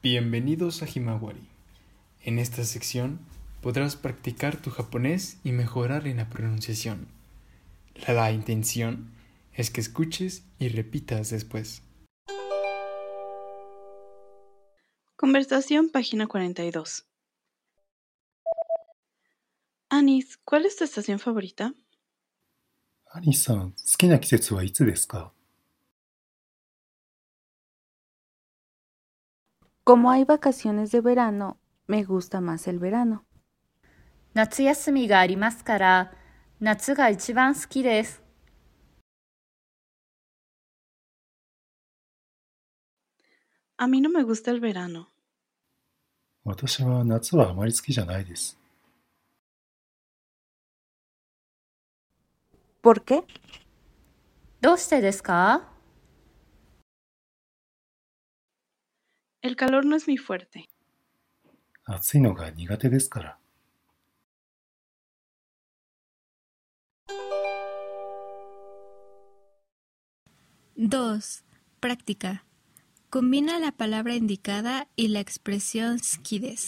Bienvenidos a Himawari. En esta sección podrás practicar tu japonés y mejorar en la pronunciación. La intención es que escuches y repitas después. Conversación, página 42. Anis, ¿cuál es tu estación favorita? アニさん、好きな季節はいつですか？ Como hay vacaciones de verano, me gusta más el verano. 夏休みがありますから、夏が一番好きです。 A mí no me gusta el verano. 私は夏はあまり好きじゃないです。 ¿Por qué? どうしてですか？ El calor no es mi fuerte. 暑いのが苦手ですから。 2. Práctica. Combina la palabra indicada y la expresión 好きです。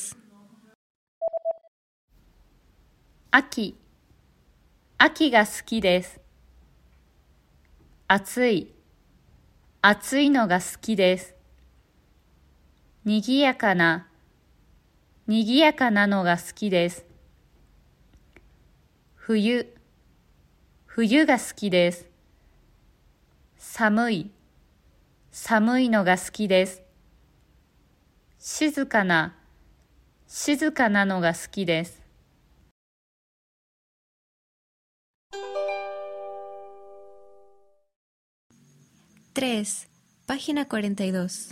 秋。秋が好きです。暑い。暑いのが好きです。にぎやかな。にぎやかなのが好きです。冬。冬が好きです。寒い。寒いのが好きです。静かな。静かなのが好きです。 3. Página 42.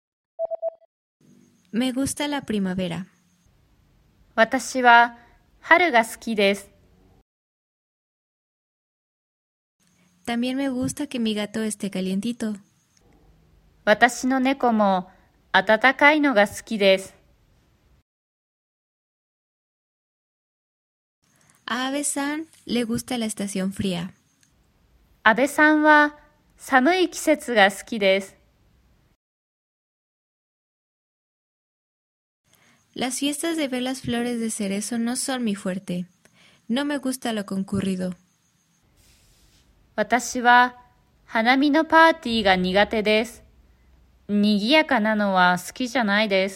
Me gusta la primavera. 私は春が好きです。 También me gusta que mi gato esté calientito. 私の猫も暖かいのが好きです。 A Abe-san le gusta la estación fría. 安倍さんは寒い季節が好きです。 Las fiestas de ver las flores de cerezo no son mi fuerte. No me gusta lo concurrido. 私は花見のパーティーが苦手です。にぎやかなのは好きじゃないです。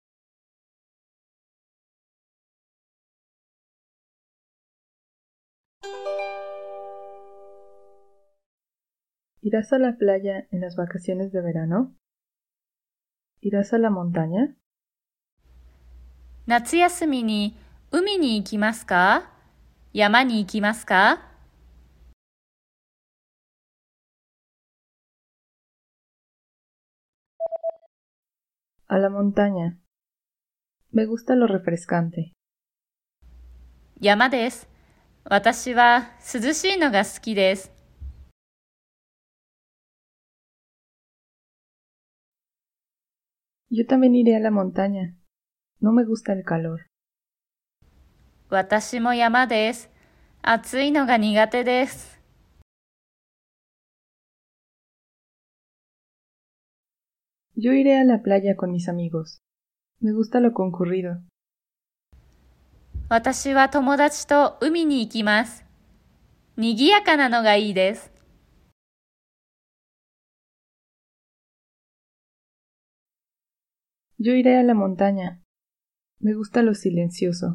¿Irás a la playa en las vacaciones de verano? ¿Irás a la montaña? 夏休みに海に行きますか？山に行きますか？ A la montaña. Me gusta lo refrescante. 山です。私は涼しいのが好きです。 Yo también iré a la montaña. No me gusta el calor. 私も山です。暑いのが苦手です。 Yo iré a la playa con mis amigos. Me gusta lo concurrido. 私は友達と海に行きます。にぎやかなのがいいです。 Yo iré a la montaña. Me gusta lo silencioso.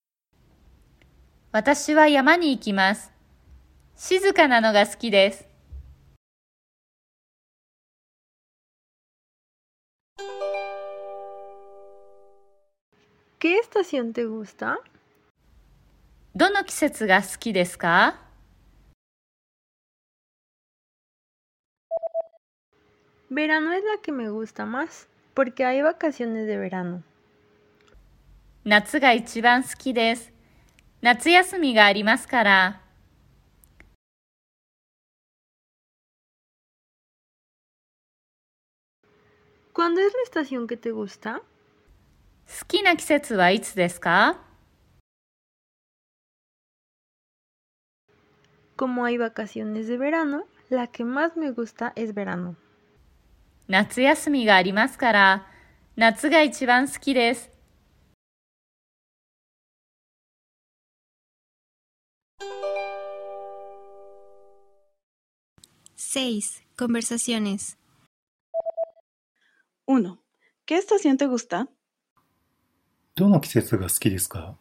私は山に行きます。静かなのが好きです。 ¿Qué estación te gusta? どの季節が好きですか？ Verano es la que me gusta más, porque hay vacaciones de verano. 夏が一番好きです。夏休みがありますから。 ¿Cuándo es la estación que te gusta? 好きな季節はいつですか？ Como hay vacaciones de verano, la que más me gusta es verano. 夏休みがありますから、 夏が一番好きです。 6. Conversaciones. 1. ¿Qué estación te gusta? どの季節が好きですか？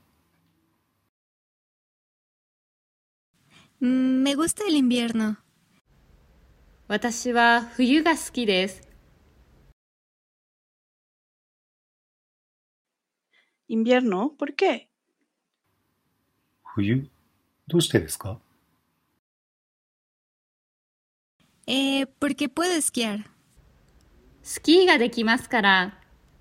Me gusta el invierno. 私は冬が好きです。 Invierno, ¿por qué? 冬？どうしてですか？ Porque puedo esquiar. スキーができますから。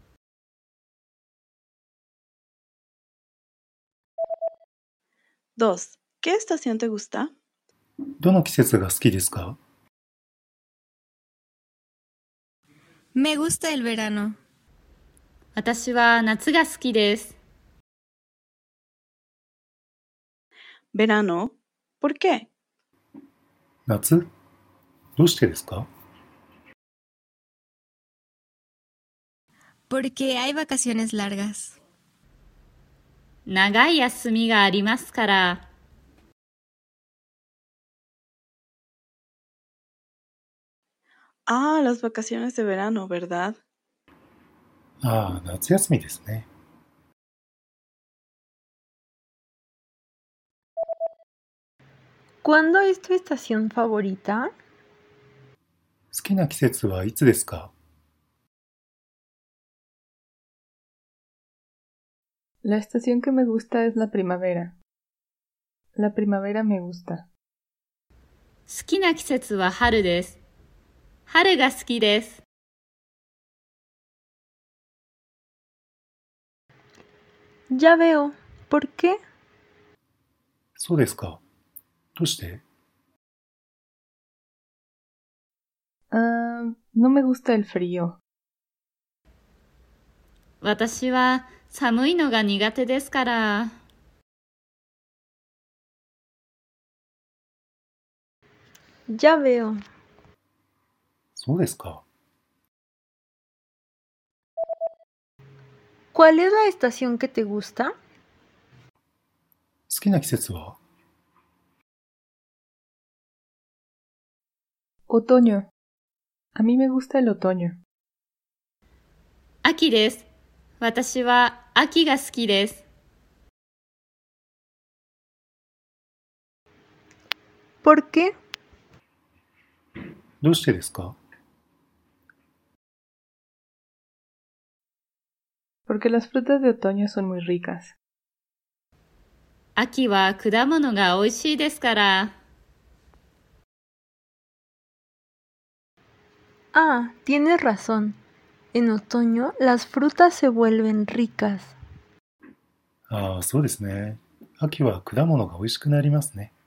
2. ¿Qué estación te gusta? どの季節が好きですか？ Me gusta el verano. 私は夏が好きです。 Verano, ¿por qué? 夏？どうしてですか？ Porque hay vacaciones largas. 長い休みがありますから。 Ah, las vacaciones de verano, ¿verdad? ああ、夏休みですね。 ¿Cuándo es tu estación favorita? 好きな季節はいつですか？ La estación que me gusta es la primavera. La primavera me gusta. 好きな季節は春です。春が好きです。 Ya veo. ¿Por qué? そうですか。どうして？ No me gusta el frío. 私は寒いのが苦手ですから。 Ya veo. そうですか。 ¿Cuál es la estación que te gusta? 好きな季節は？ Otoño. A mí me gusta el otoño. 秋です。私は秋が好きです。 ¿Por qué? どうしてですか？ Porque las frutas de otoño son muy ricas. 秋は果物が美味しいですから。 Ah, tienes razón. En otoño las frutas se vuelven ricas. ああ、そうですね。秋は果物が美味しくなりますね。